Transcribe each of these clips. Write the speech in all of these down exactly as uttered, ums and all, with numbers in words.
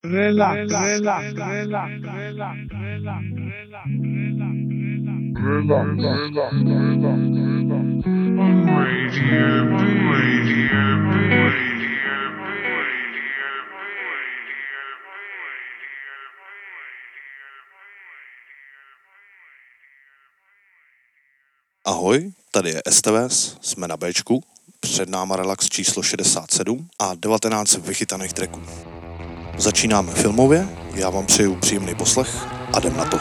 Relax, relax, relax, relax, relax, relax, relax, Radio B, Radio B, Radio B, Radio Ahoj, tady je S T V S, jsme na Bčku, před náma relax číslo šedesát sedm a devatenáct vychytaných tracků. Začínáme filmově, já vám přeju příjemný poslech a jdem na to.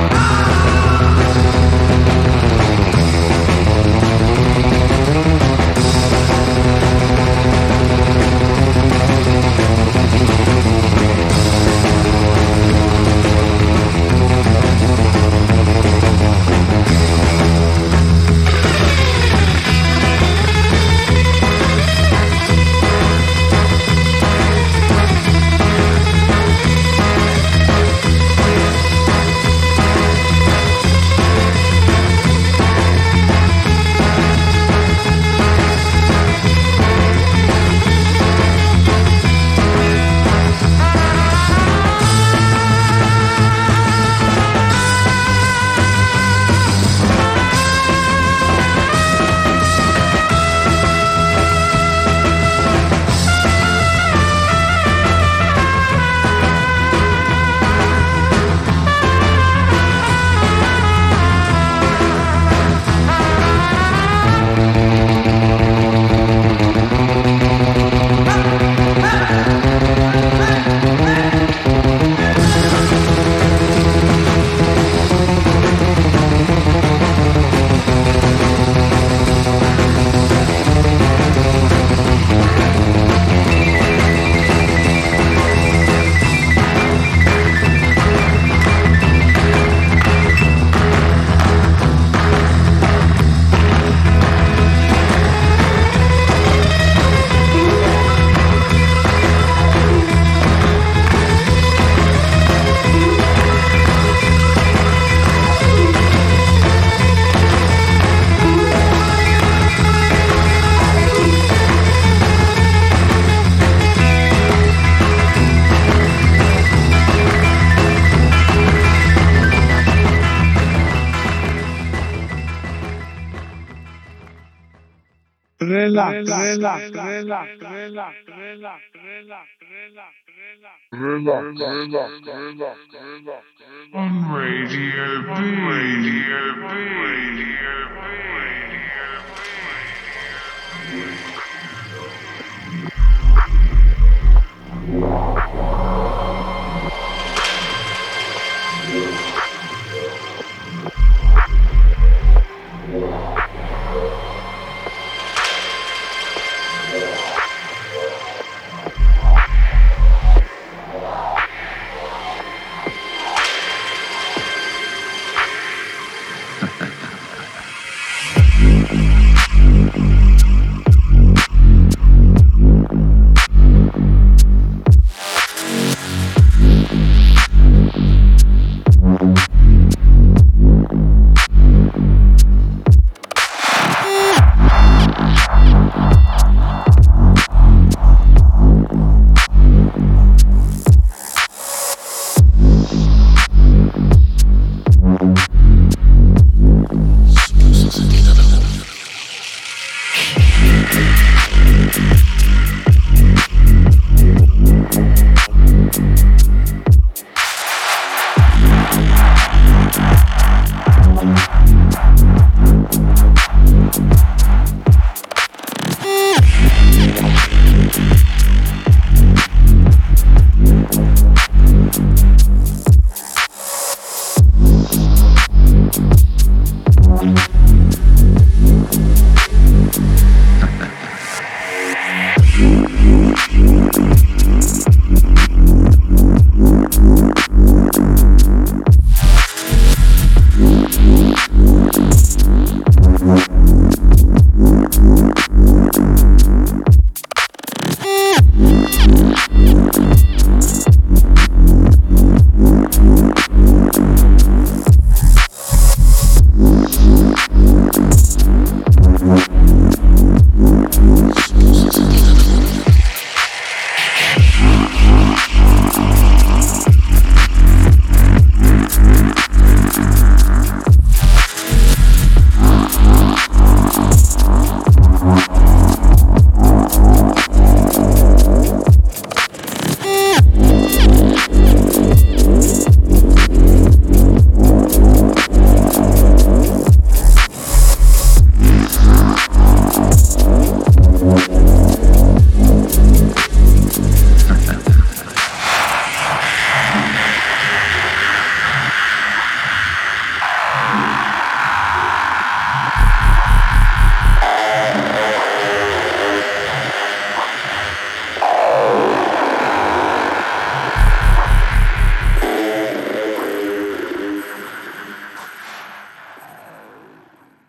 relax, relax, relax, relax, relax, relax, relax, relax, relax, relax, relax, on Radio B, Radio B, Radio B, Radio B.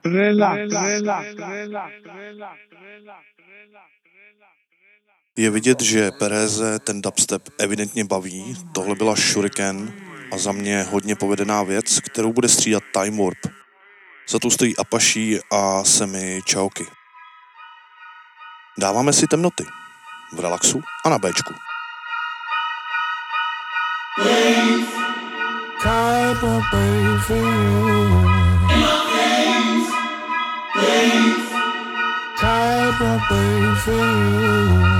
relax, relax, relax, Je vidět, že Pereze ten dubstep evidentně baví, tohle byla Shuriken a za mě hodně povedená věc, kterou bude střídat Time Warp. Za tu stojí Apache a Semi Chaoki. Dáváme si temnoty v relaxu a na Bčku. Type of wait for you. Type of wait for you.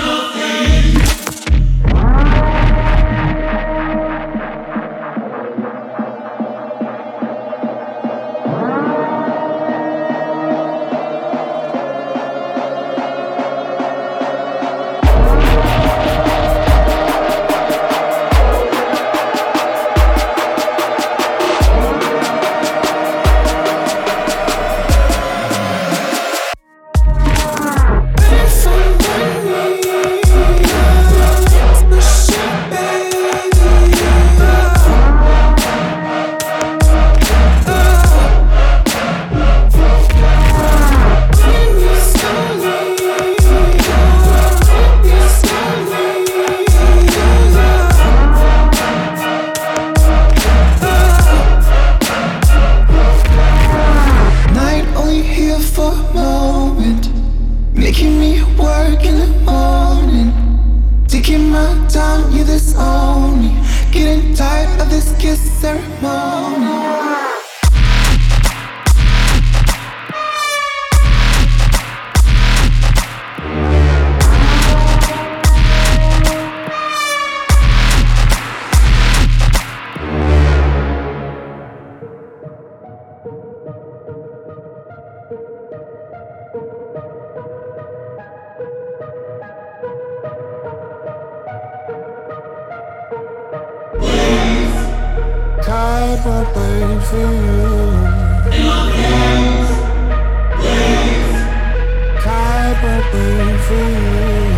Type of wait for you. Type of wait for you.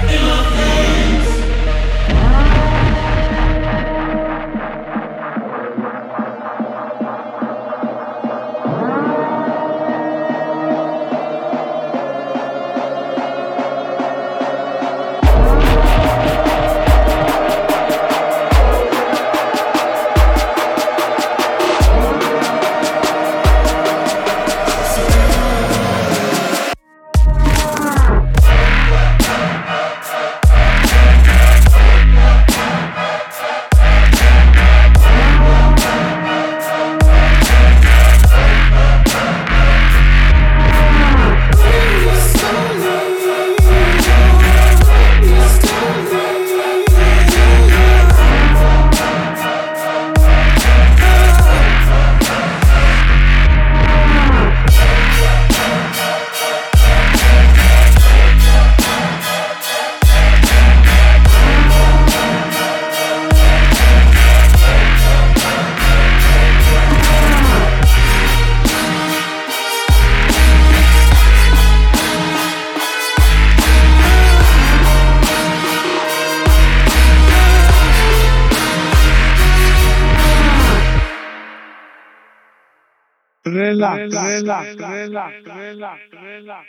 relax, relax, relax, relax, relax, relax,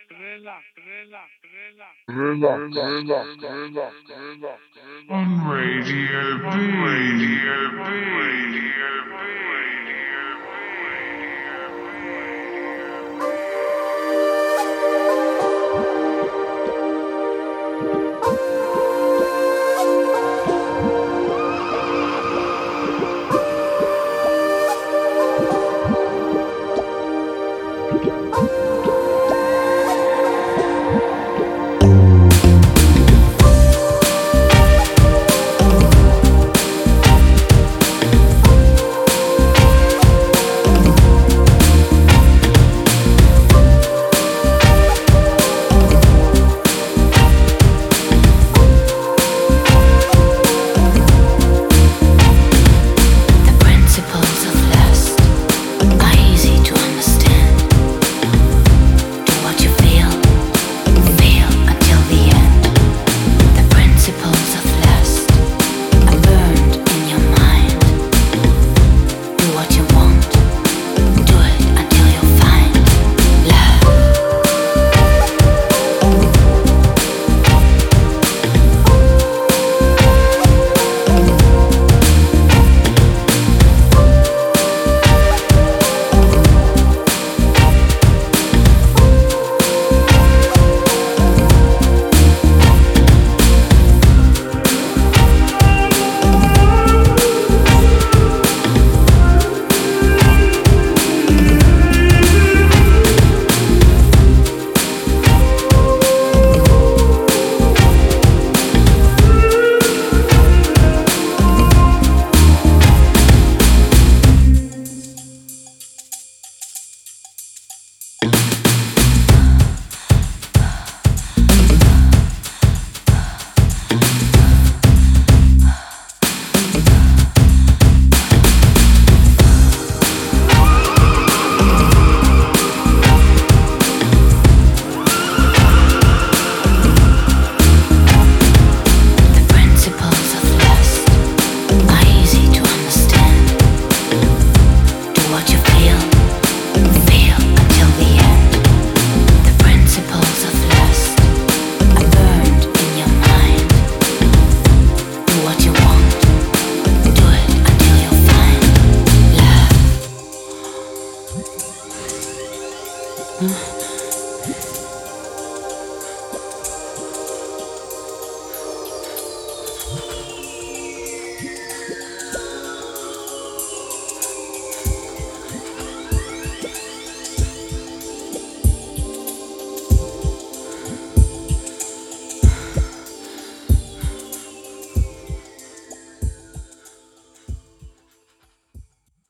on Radio B, Radio B, Radio B, Radio Type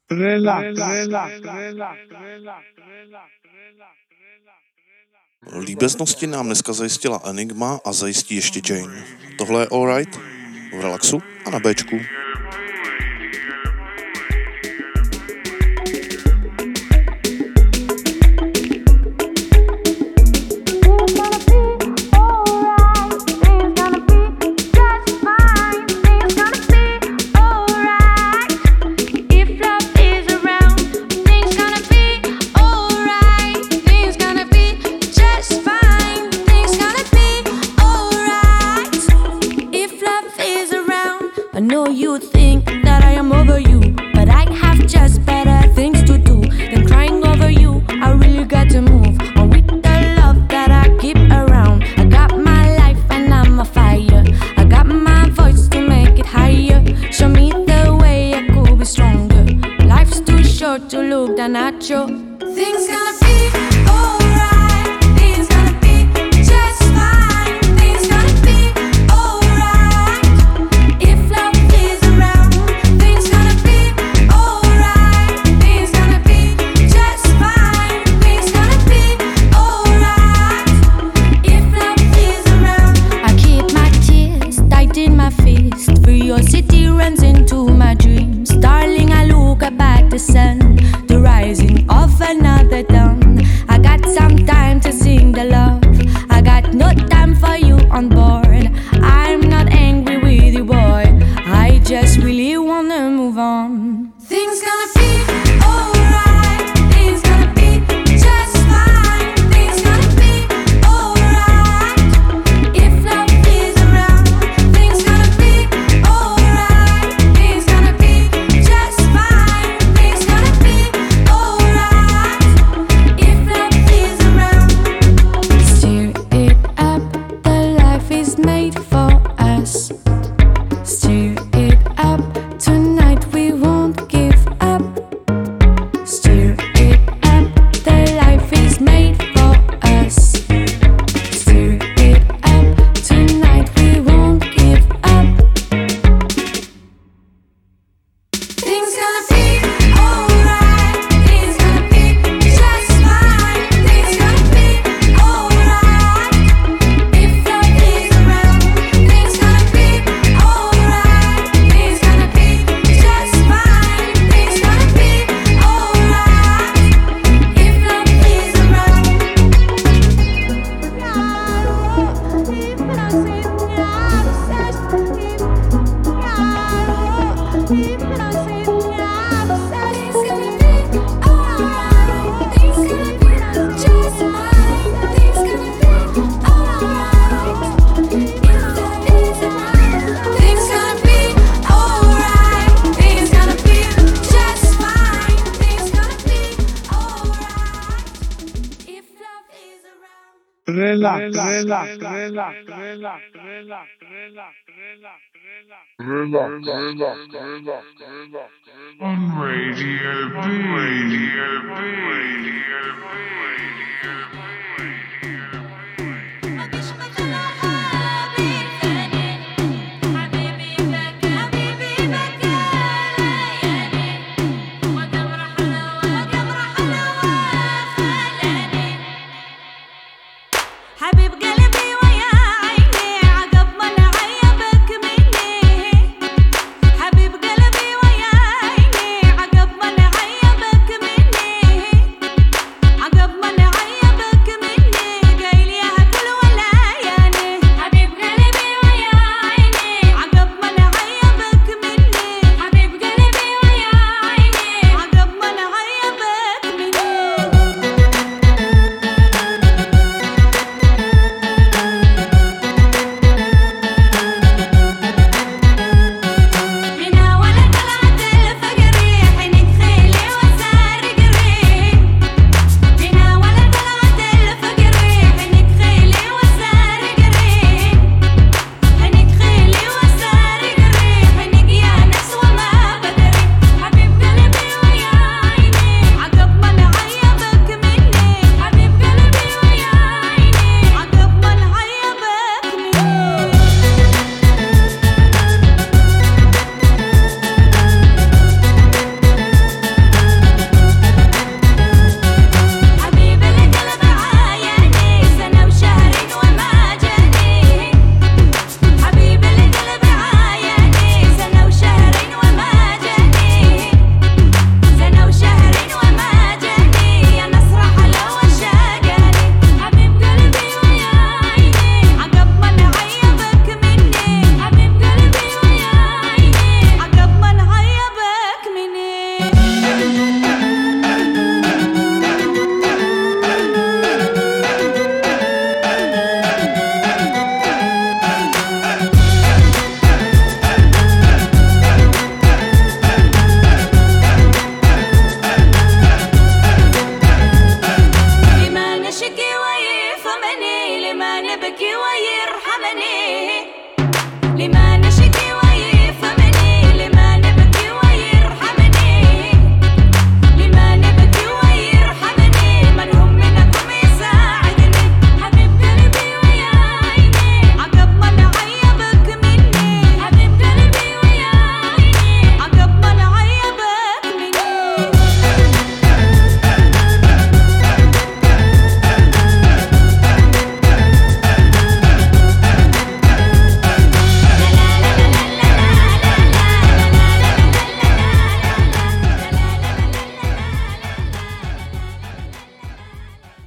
relax, relax, relax, Líbeznosti nám dneska zajistila Enigma a zajistí ještě Jane. Tohle je All Right v Relaxu a na Bčku. relax, relax, relax, relax, relax, relax, on Radio B. Radio B. Radio B.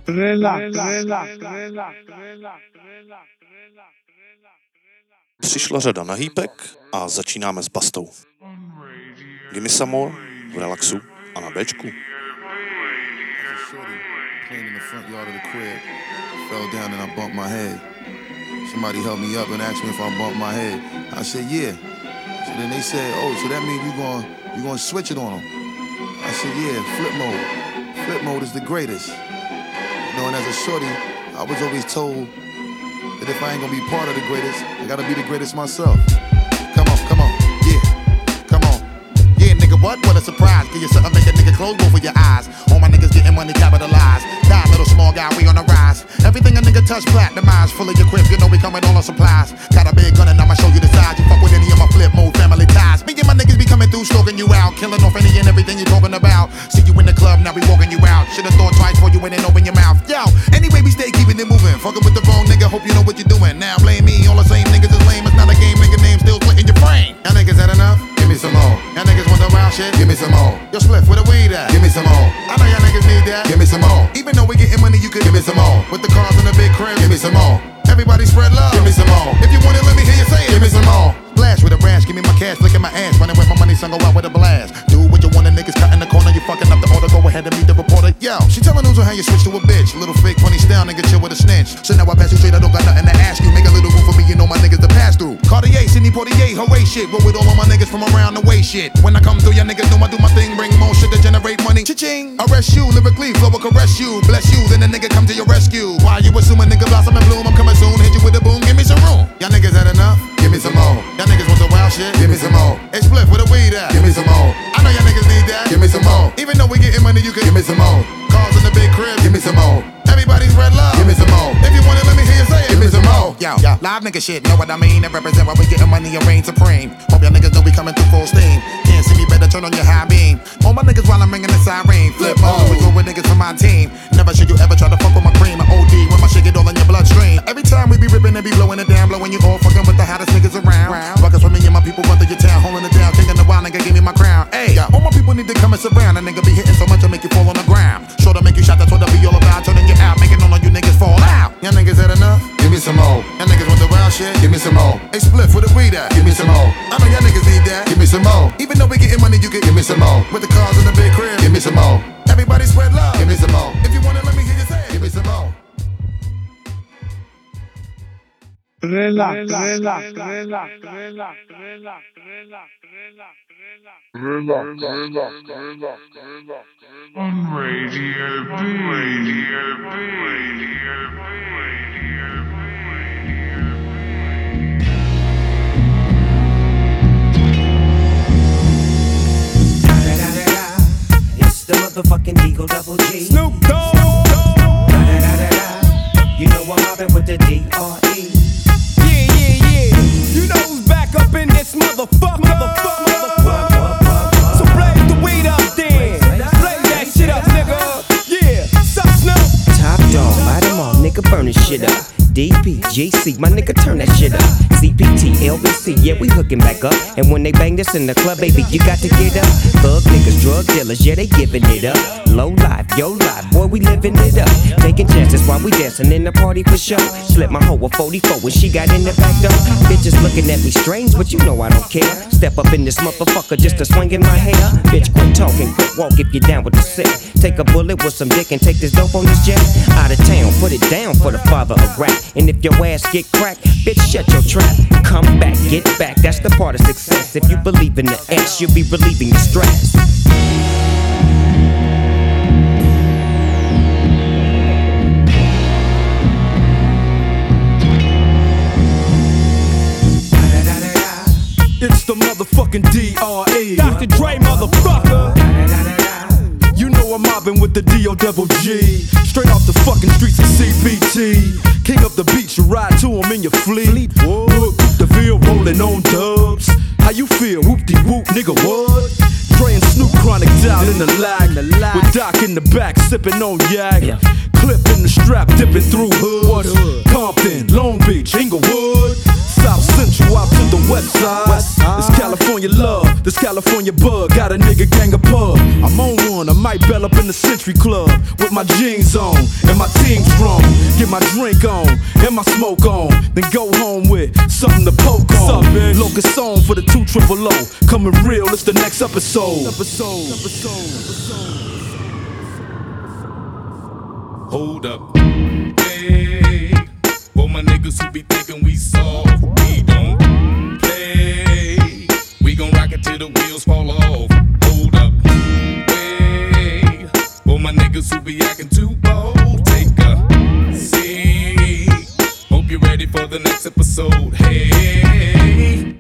Relax, relax, relax, relax. Přišla řada na hýpek a začínáme s Bastou. Gimme some more v relaxu a na Bčku. Playing in the front yard of the crib, fell down and I bumped my head. Somebody helped me up and asked me if I bumped my head. I said, yeah. So then they said, oh, so that means you going you gonna switch it on them. I said, yeah, flip mode. Flip mode is the greatest. You know, and as a shorty, I was always told that if I ain't gonna be part of the greatest, I gotta be the greatest myself. Come on, come on, yeah, come on. Yeah, nigga, what? What a surprise. Give you something, make a nigga close both of your eyes. All my niggas getting money capitalized. Die, little small guy, we on the rise. Everything a nigga touch, platinumized. Full of your equip, you know we coming all on supplies. Got a big gun and I'ma show you the size. You fuck with any of my flip mode family ties. Me and my niggas be coming through, stalking you out. Killing off any and everything you talking about. See you in the club, now we walking you out. Should've thought twice before you went and open your mouth. Yo, anyway, we stay keeping it moving. Fucking with the wrong nigga, hope you know what you're doing. Now blame me, all the same niggas is lame. It's not a game, nigga name still splitting your brain. Y'all niggas had enough? Give me some more. Y'all niggas want the wild shit? Give me some more. Yo, Spliff, where the weed at? Give me some more. I know y'all niggas need that. Give me some more. Even though we getting money, you could give me some more. With the cars in the big crib, give me some more. Everybody spread love. Give me some more. If you want it, let me hear you say it. Give me some more. Blast with a rash, give me my cash, flicking my ass, running with my money, son, go out with a blast. Do what you want, the niggas cut in the corner, you fucking up the order, go ahead and meet the reporter. Yo, she telling news on how you switch to a bitch. Little fake funny style, nigga, chill with a snitch. So now I pass you straight, I don't got nothing to ask you. Make a little room for me, you know my niggas to pass through. Cartier, Sidney Poitier, hooray shit. Roll with all of my niggas from around the way shit. When I come through, y'all niggas know I do my thing, bring more shit to generate money. Cha-ching, arrest you, lyrically, flow will caress you. Bless you, then the nigga come to your rescue. Why you assuming nigga blossom and bloom? I'm coming soon, hit you with a boom, give me some room. Y'all niggas had enough? Give me some more. Y'all niggas want the wild shit? Give me some more. Hey, Spliff, where the weed at? Give me some more. I know y'all niggas need that. Give me some more. Even though we getting money, you can give me some more. Cars in the big crib, give me some more. Everybody's red love, give me some more. If you want it, let me hear you say it. Give me some more. Yo, yo, live nigga shit, know what I mean? It represent why we getting money and reign supreme. Hope y'all niggas know we coming through full steam. Can't see me, better turn on your high beam. All my niggas while I'm ringing the siren. Flip mode, we go with niggas from my team. Never should you ever try to fuck with my cream. I O D when my shit get all in your bloodstream. Every time we be ripping and be blowing it down, blowing you all fucking with the hottest niggas around. Fuckers with me and my people run through your town, holding it down, taking a while, nigga, give me my crown. Hey, yeah, all my people need to come and surround. A nigga be hitting so much I make you fall on the ground. Sure to make you shot, that's what I be all about. Turning you out, making all of you niggas fall out. Y'all niggas had enough? Give me some more. Y'all niggas want the wild shit? Give me some more. Hey, Spliff, where the weed at? Give me some more. I know y'all niggas need that. Give me some more. Even though we getting money, you can give me some more. With the cars in the big crib, give me some more. Everybody spread love, give me some more. If you want it, let me hear you say it. Give me some more. Relax, relax, relax, relax, relax, relax, relax, relax. Relax, relax, relax, relax. On Radio B, Radio B, Radio B, Radio B. It's the motherfucking Deagle Double G. Snoop Dogg. You know I'm mobbing with the D R E. Yeah, yeah, yeah. You know who's back up in this motherfucker. Motherfucker, motherfucker. So blaze the weed up then. Blaze that shit up, nigga. Yeah, sup, Snoop. Top dog, light 'em all, nigga, burn this shit up. D P G C, my nigga, turn that shit up. C P T, L B C, yeah, we hooking back up. And when they bang this in the club, baby, you got to get up. Thug niggas, drug dealers, yeah, they giving it up. Low life, yo life, boy, we living it up. Taking chances while we dancing in the party for sure. Slip my hoe a forty-four when she got in the back door. Bitches looking at me strange, but you know I don't care. Step up in this motherfucker just to swing in my hair. Bitch, quit talking, quit walk if you're down with the sick. Take a bullet with some dick and take this dope on this jet. Out of town, put it down for the father of rap. And if your ass get cracked, bitch, shut your trap. Come back, get back, that's the part of success. If you believe in the X, you'll be relieving your stress. It's the motherfucking D R E. Doctor Dre, motherfucker. You know I'm mobbing with the D O double G. Straight off the fucking streets of C P T. King up the beach, you ride to him in your fleet. Look, the Ville rolling on dubs. How you feel? Whoop-de-whoop, nigga, what? Dre and Snoop chronic down in the lag. With Doc in the back, sipping on yak. Yeah. Clip in the strap, dipping through hoods. Compton, Long Beach, Inglewood. South Central out to the west side. West side. It's California love. This California bug got a nigga gang of pub. I'm on one, I might bell up in the Century Club with my jeans on and my team strong. Get my drink on and my smoke on, then go home with something to poke on. Locust song for the two triple O. Coming real, it's the next episode. Episode. Episode. Hold up. Hey, for my niggas who be thinking we soft, we don't play. We gon' rock it till the wheels fall off. Hold up. Hey, for my niggas who be acting too bold, take a seat. Hope you're ready for the next episode. Hey,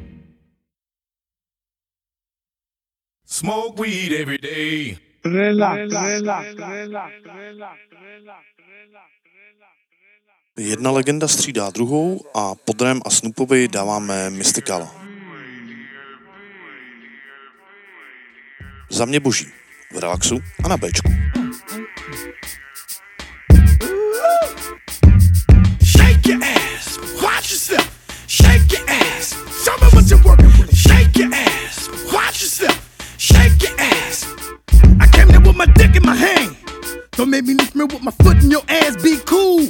smoke weed every day. Relax, relax, relax, relax. Jedna legenda střídá druhou a pod Rem a Snoopovi dáváme Mystikala. Za mě boží, v relaxu a na Bčku. Shake your ass, watch yourself. Shake your ass, show me what you're working with. Shake your ass, watch yourself. Shake your ass. I came there with my dick in my hand. Don't make me lift me with my foot in your ass, be cool.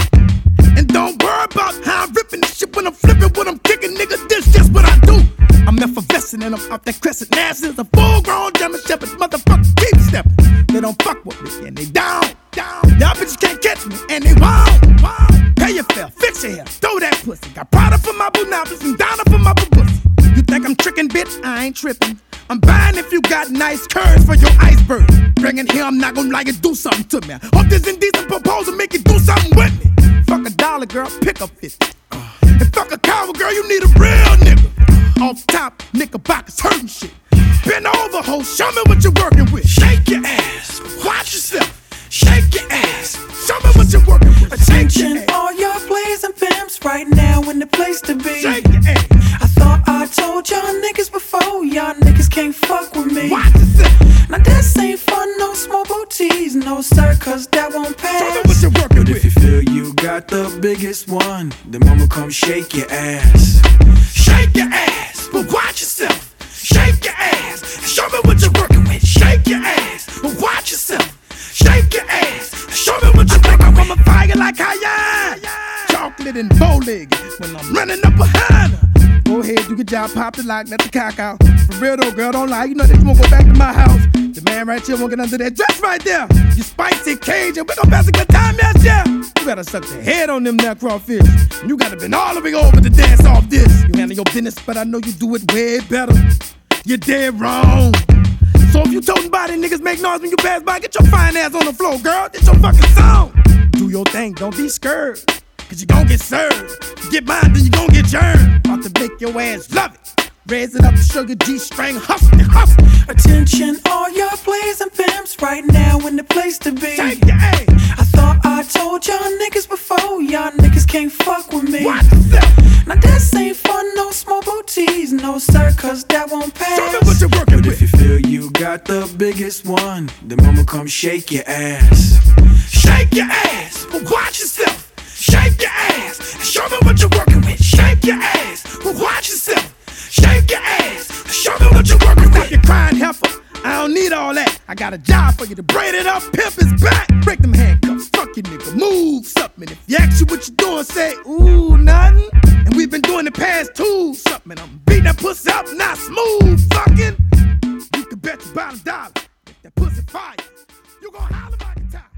And don't worry about how I'm ripping this shit when I'm flipping, when I'm kicking, nigga, this just what I do. I'm effervescent and I'm off that crescent. Now since a full-grown German Shepherd, motherfucker keep stepping. They don't fuck with me and they down, down. Y'all bitches can't catch me and they won't, won't. Pay your fare, fix your hair, throw that pussy. Got Prada for my boo novice and Donna for my boo pussy. You think I'm tricking, bitch? I ain't tripping. I'm buying if you got nice curves for your iceberg. Bring it here, I'm not gonna like it, do something to me. Hope this indecent proposal make you do something with me. Fuck a dollar, girl, pick up fifty. Uh, and fuck a coward, girl, you need a real nigga. Off top, knickerbockers hurting shit. Bend over, ho, show me what you're working with. Shake your ass, watch yourself. Shake your ass, show me what you're working with. Attention, all y'all players and pimps, right now in the place to be. Shake your ass. I thought I told y'all niggas before, y'all niggas can't fuck with me. Watch yourself. Now this ain't fun, no small booties, no sir, cause that won't pass. Show me what you're working But with. if you feel you got the biggest one, then mama come shake your ass. Shake your ass, but watch yourself. Shake your ass, show me what you're working with. Shake your ass, but watch yourself. Shake your ass, show me what you're working with. I'm a fire like Cayenne, chocolate and bow-legged when I'm running up behind her. Go ahead, do your job, pop the lock, let the cock out. For real though, girl, don't lie, you know that you won't go back to my house. The man right here won't get under that dress right there. You spicy Cajun, we gon' pass a good time, yes, yeah. You gotta suck the head on them now crawfish. And you gotta been all the way over to dance off this. You handle your business, but I know you do it way better. You're dead wrong. So if you toting body niggas make noise when you pass by, get your fine ass on the floor, girl. It's your fucking song. Do your thing, don't be scared, cause you gon' get served. You get mine, then you gon' get churned. About to make your ass love it. Raise it up, sugar G-string, hustle, hustle. Attention, all y'all players and pimps, right now in the place to be. Shake your ass. I thought I told y'all niggas before, y'all niggas can't fuck with me. Watch yourself. Now this ain't fun, no small booties, no sir, cause that won't pass. Show me what you're working But with. if you feel you got the biggest one, then mama come shake your ass. Shake your ass, but watch yourself. Shake your ass, show me what you're working with. Shake your ass, but watch yourself. Shake your ass, show me what you're working with. Stop your crying heifer, I don't need all that. I got a job for you to braid it up, pimp his back. Break them handcuffs, fuck you nigga, move something. If you ask you what you doing, say, ooh, nothing. And we've been doing the past two, something. I'm beating that pussy up, not smooth, fucking. You can bet your bottom dollar, if that pussy fire, you gon' holler by the time.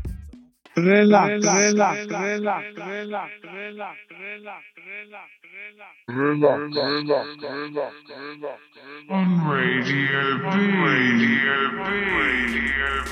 Relax, relax, relax, relax, relax, relax, relax, relax. Relax, relax, relax, relax. On Radio B, Radio B, Radio B,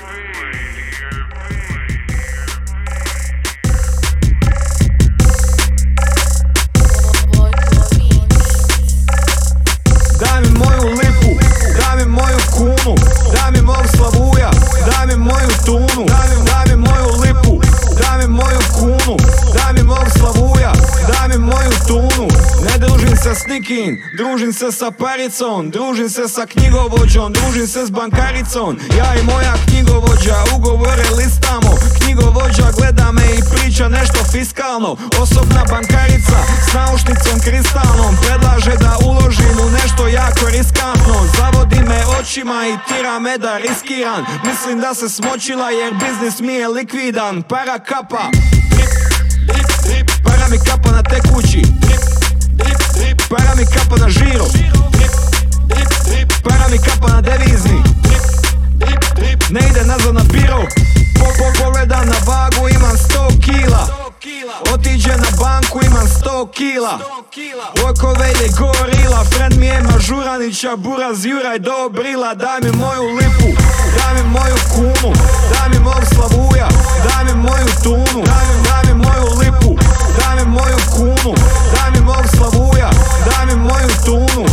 Daj mi moju lipu, daj mi moju kunu, daj mi mog slavuja, daj mi moju tunu, daj mi moju lipu, daj mi moju kunu, daj mi mog slavuja, daj mi moju tunu. Ne družim se s nikim, družim se sa paricom, družim se sa knjigovođom, družim se s bankaricom. Ja i moja knjigovođa ugovore listamo, knjigovođa gleda me i priča nešto fiskalno. Osobna bankarica s naušnicom kristalnom predlaže da uložim u nešto jako riskantno. Zavodi me očima i tira me da riskiran. Mislim da se smočila jer biznis mi je likvidan. Para kapa, drip, drip, drip. Para mi kapa na tekući, drip, drip, drip. Para mi kapa na žiro, drip, drip, drip. Para mi kapa na devizni, drip, drip, drip. Ne ide nazad na biro, po, po, pogledam na vagu, imam sto kila. Otiđe na banku, imam sto kila. Okove ide gorila, friend mi je Mažuranića, buraz Juraj Dobrila. Daj mi moju lipu, daj mi moju kunu, daj mi mog Slavuja, daj mi moju tunu, daj mi, daj mi moju lipu, daj mi moju kunu, daj mi mog Slavuja, daj mi moju tunu.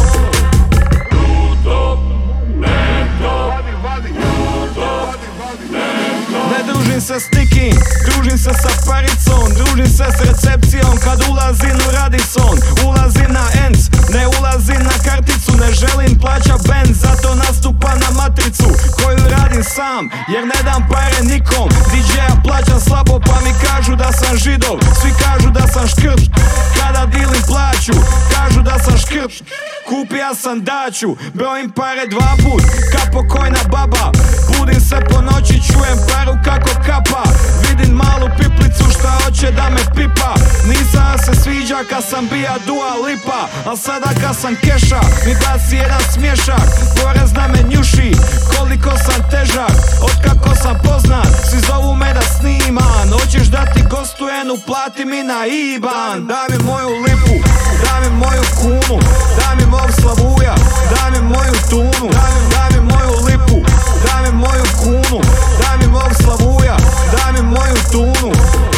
Ne družim se s nikim, družim se sa paricom, družim se s recepcijom kad ulazim u Radisson. Ulazim na Enc, ne ulazim na karticu, ne želim plaća band, zato nastupam na matricu koju radim sam, jer ne dam pare nikom. D J-a plaćam slabo pa mi kažu da sam židov, svi kažu da sam škrt, kada dilim plaću, kažu da sam škrt. Kupija sam daću, brojim pare dva put, ka pokojna baba. Budim se po noći, čujem paru kako kapa. Vidim malu piplicu šta hoće da me pipa. Nisam se sviđa kad sam bija Dua Lipa, al sada kad sam keša mi baci jedan smješak. Porez na me njuši, koliko sam težak, otkako sam poznat, svi zovu me da sniman. Hoćeš da ti gostujem, uplati mi na IBAN. Daj mi moju lipu, daj mi moju kunu, daj mi mog Slavuja, daj mi moju tunu, daj mi, daj mi moju lipu, daj mi moju kunu, daj mi mog Slavuja, daj mi moju tunu.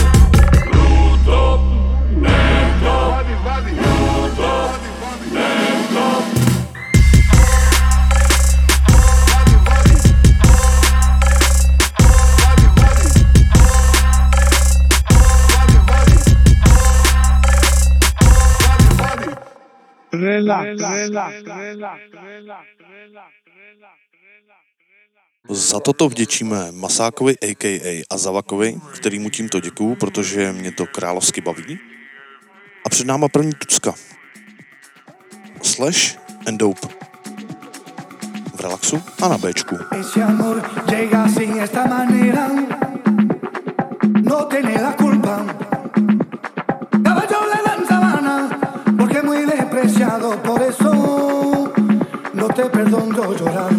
Relax, relax, relax, relax. Za toto vděčíme Masákovi a ká a Azavakovi, kterýmu tímto děkuju, protože mě to královsky baví. A před náma první tucka. Slash and Dope. V relaxu a na Bčku. Ese amor llega sin esta manera, no tiene la culpa. Caballo le dan sabana, porque es muy despreciado, por eso no te perdono llorar.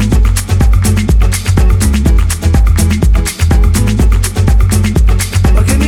Porque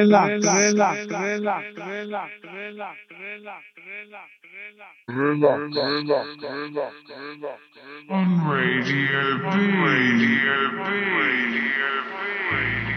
relax, relax, relax, relax, relax, relax, on Radio B. Radio B. Radio B.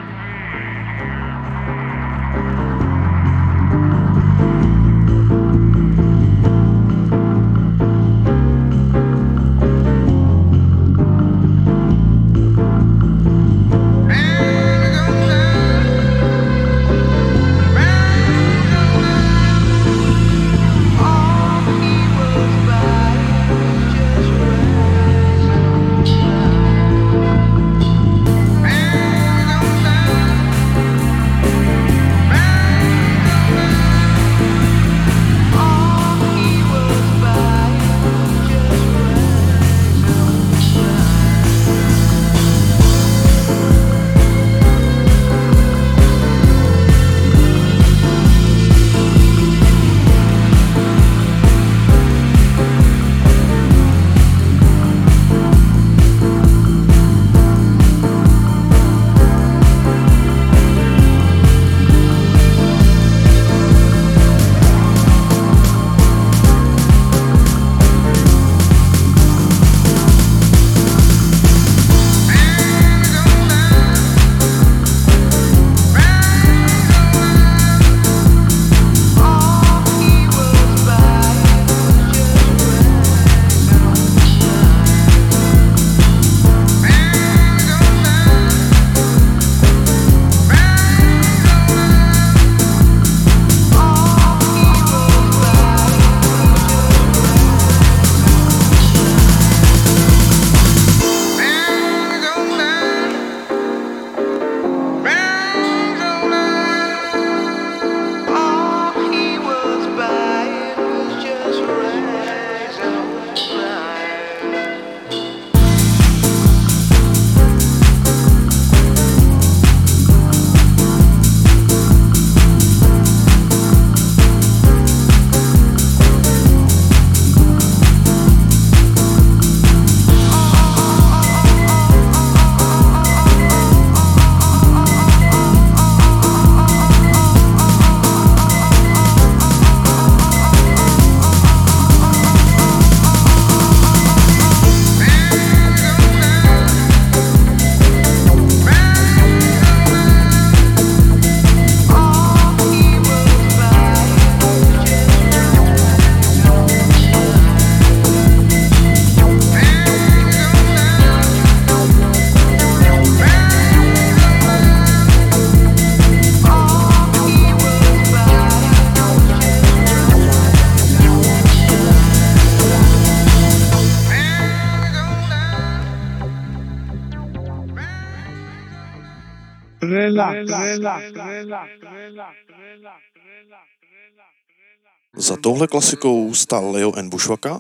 Za touhle klasikou stál Leo N. Bushwacka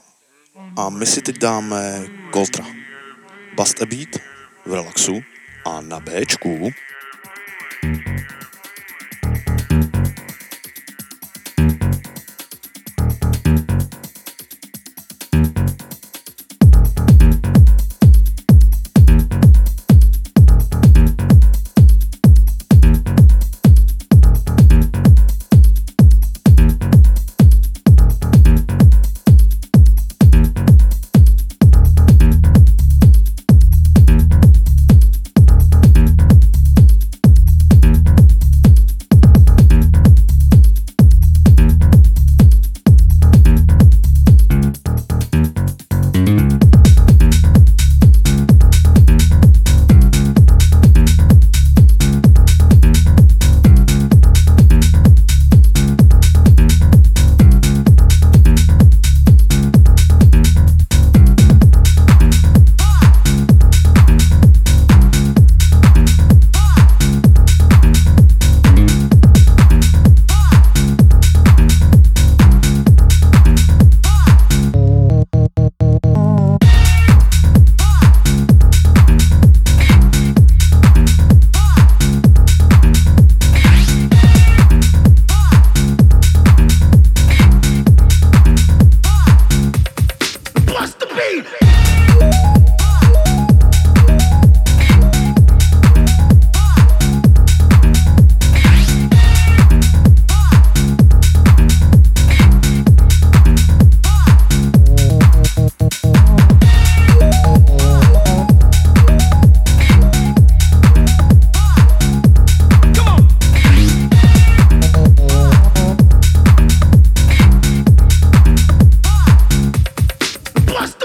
a my si teď dáme Coltra. Bust a Beat v relaxu a na Bčku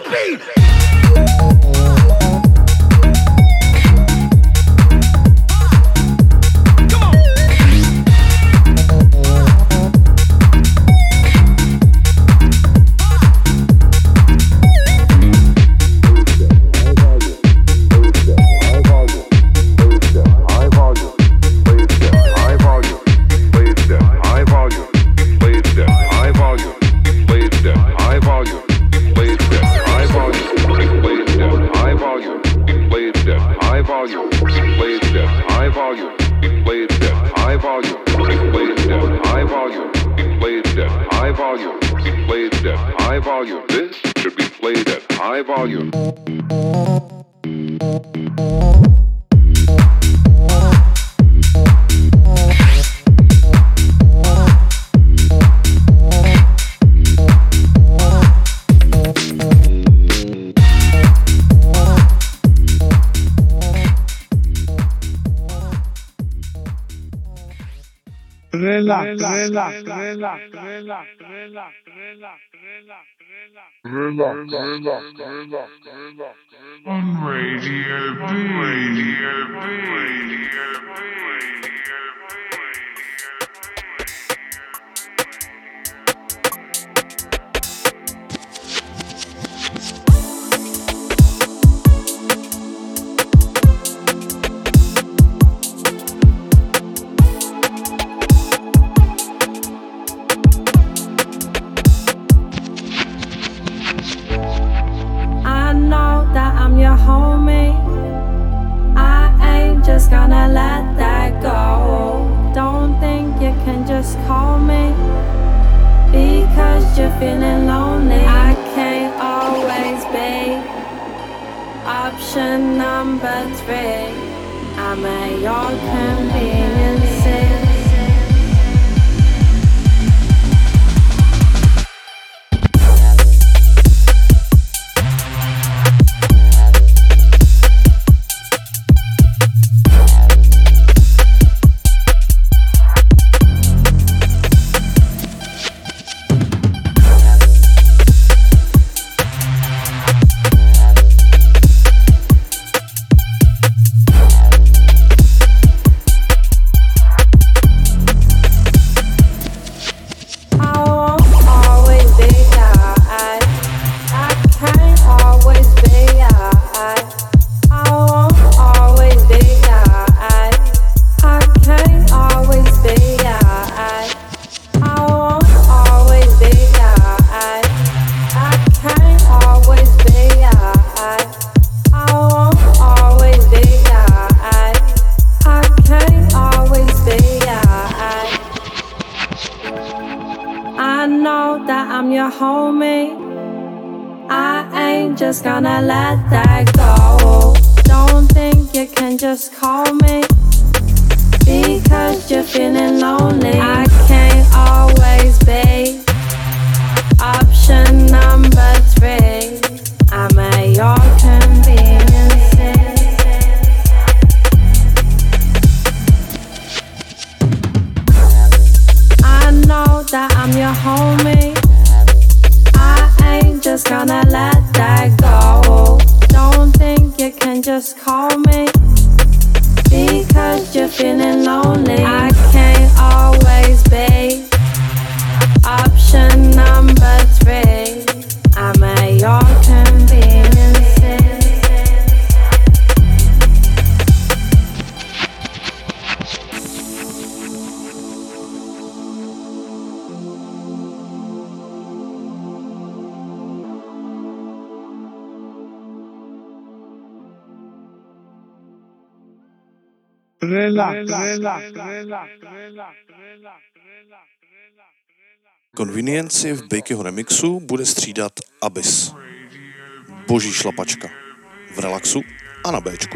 beat. Relax, relax, relax, relax, relax, relax, relax, relax, relax, relax, relax. On Radio B, Radio B, Radio B. Gonna let that go. Don't think you can just call me because you're feeling lonely. I can't always be option number three. I'm at your convenience. Just gonna let that go. Don't think you can just call me because you're feeling lonely. I can't always be option number three. I'm at your convenience. I know that I'm your homie. Just gonna let that go. Don't think you can just call me because you're feeling lonely. I can't always be option number three. I'm at your convenience. Convenience v Bakeyho remixu bude střídat Abyss. Boží šlapačka. V relaxu a na Bčku.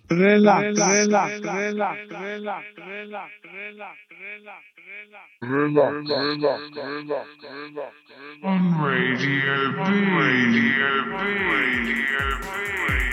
Relax, relax, relax, relax, relax, relax, on Radio B. Radio B. Radio B.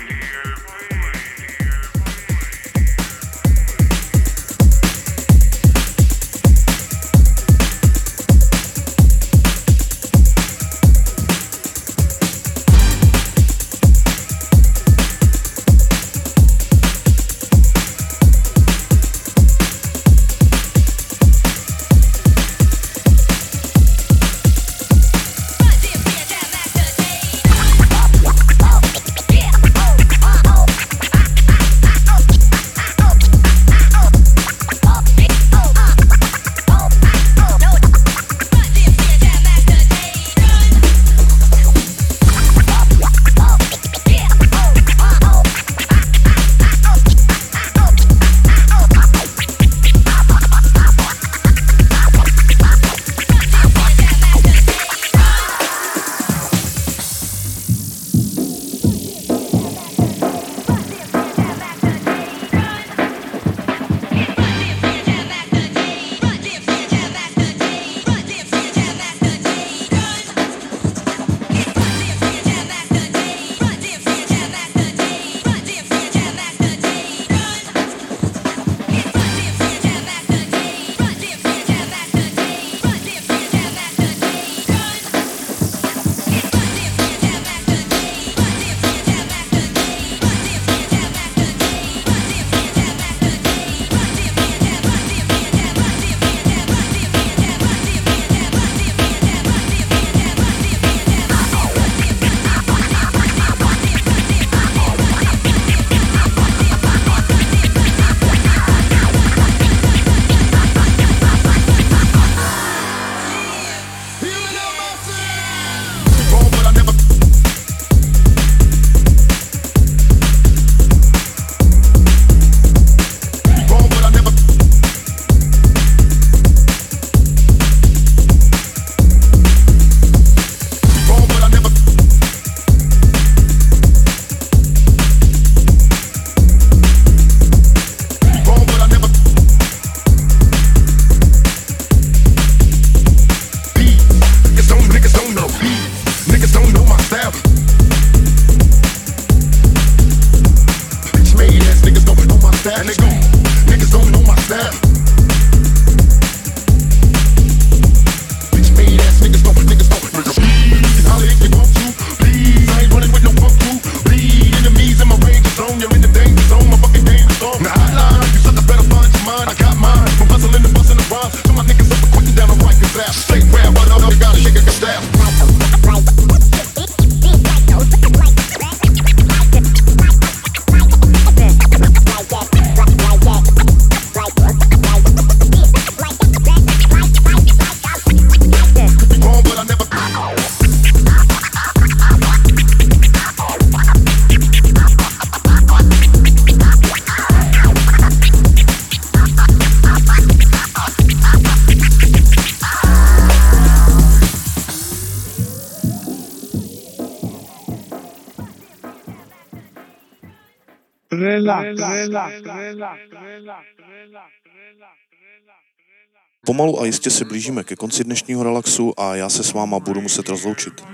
Pomalu a jistě se blížíme ke konci dnešního relaxu a já se s váma budu muset rozloučit.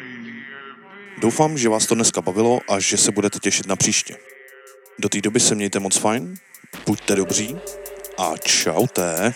Doufám, že vás to dneska bavilo a že se budete těšit na příště. Do té doby se mějte moc fajn, buďte dobří a čaute.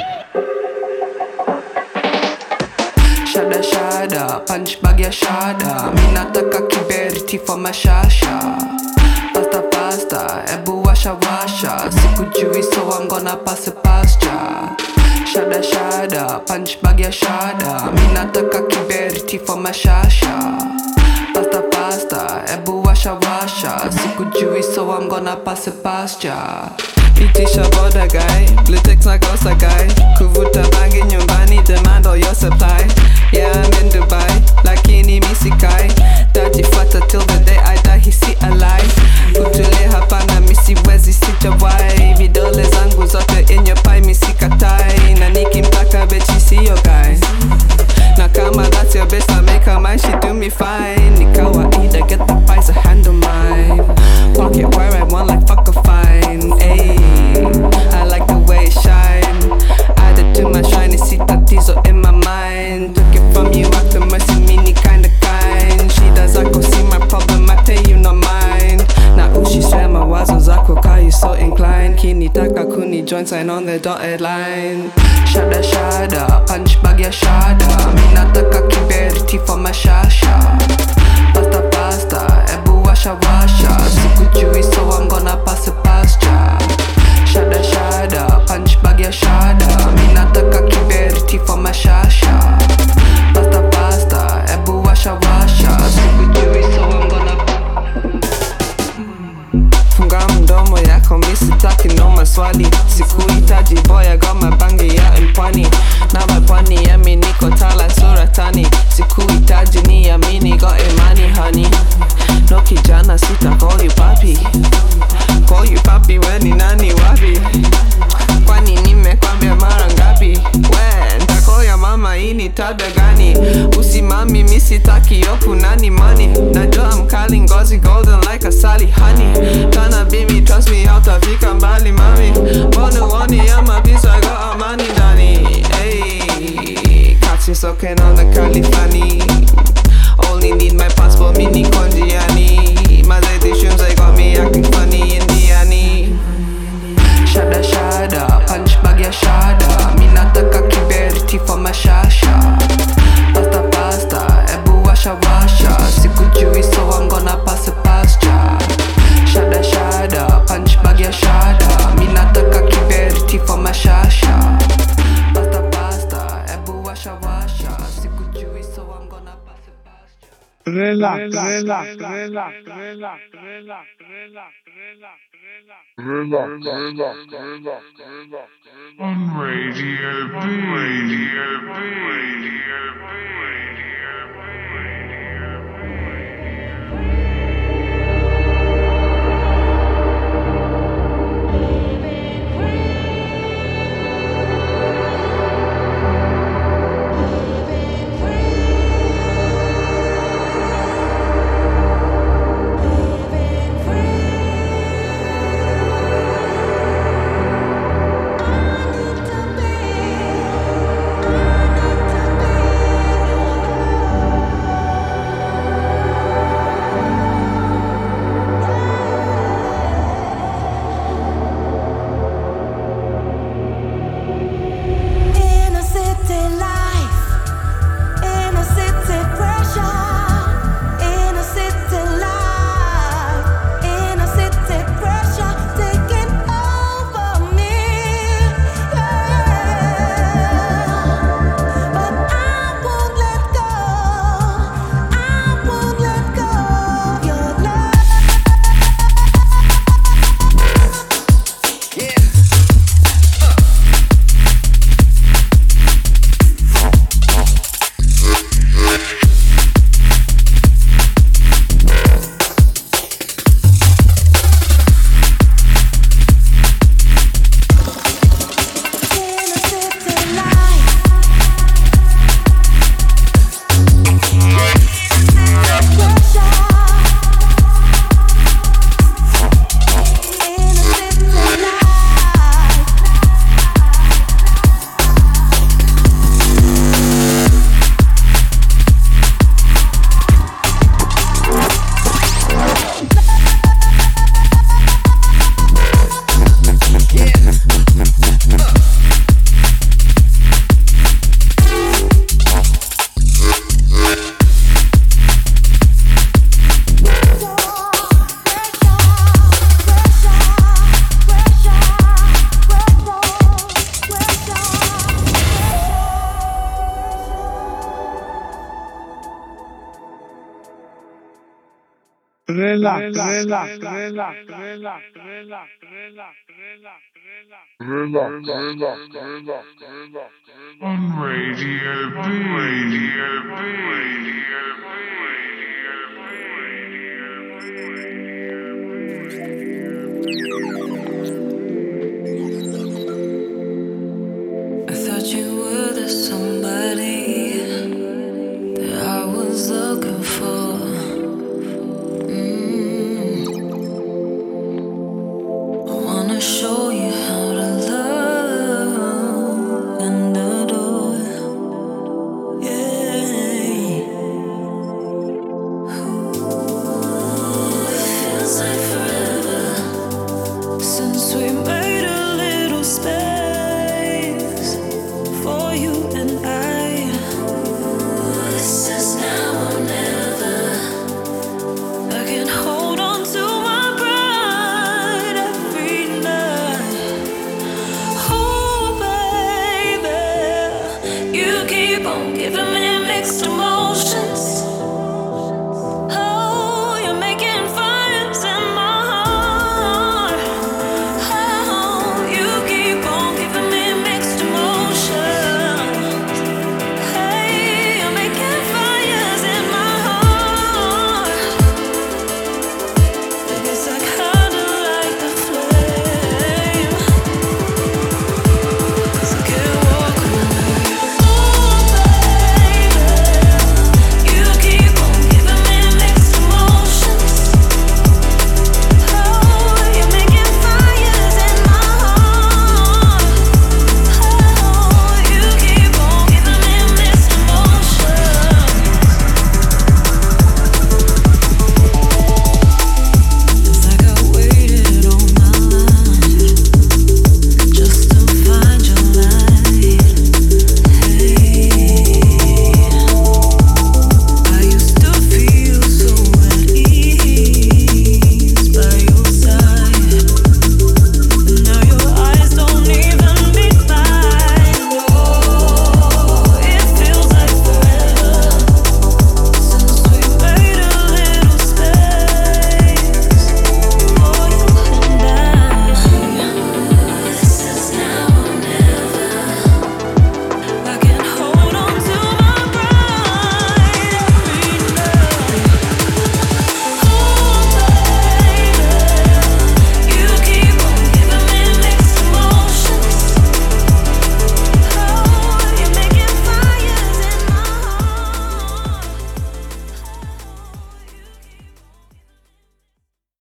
Shada shada, punch bag ya shada. Minataka kiberiti for mashasha. Pasta pasta, ebu washa washa. Sikujui so I'm gonna pass it past ya. Shada shada, punch bag ya shada. Minataka kiberiti for mashasha. Pasta pasta, ebu washa washa. Sikujui so I'm gonna pass it past ya. Itisha boda guy, Blutex na kosa guy. Kuvuta bangi nyumbani, demand all your supply. Yeah, I'm in Dubai, lakini misikai. Daddy fata till the day I die, he see alive. Kutule hapana misi wezi sijawai. Vidole zangu zote in your pie misi katai. Na nikimtaka bitch see your guy. Na kama that's your bitch, I make her mine, she do me fine. Ni kawaida, get the pies, a handle mine. Walk it where I want like fuck a kinitaka kuni join sign on the dotted line. Shada shada, punch bag ya shada. Minataka kiberiti for mashasha. Pasta pasta, ebu washa washa. Sikujui so I'm gonna pass it past ya. Shada shada, punch bag ya shada. Minataka kiberiti for mashasha. Pasta pasta, ebu washa washa. Sikujui so I'm gonna funga mdomo yako misitaki no maswali. Sikuhitaji boy, I got my bangi ya mpwani. Na mapwani yami niko tala suratani. Sikuhitaji ni amini got imani honey. No kijana sita call you papi. Call you papi we ni nani wapi? Kwani nimekwambia mara ngapi? We ntako ya mama hii ni tabia gani? Usimami misitaki yoku nani money. Najua mkali ngozi golden like a Sally honey. Kana bimi trust me hautafika mbali mami. Mbona uoni ama pisa got amani ndani. Hey, catch you soaking on the Califani. Only need my passport mini konjiani. My shoes I got me acting funny Indiani. Shada shada, punch bag ya shada. Minataka kiberiti for mashasha. Pasta pasta, ebu washa washa. Sikujui so I'm gonna pass it past ya. Shada shada, punch bag ya shada. Minataka kiberiti for mashasha. Pasta pasta, ebu washa washa. Sikujui so I'm gonna pass it past ya. Relax, relax, relax, relax, relax, relax, relax, relax. Relax, relax, relax, relax. On Radio B. Radio B. Radio B. Relax, relax, relax, relax, relax, relax, relax, relax, relax, relax, relax, relax. On Radio B, Radio B, Radio B, Radio B, Radio B.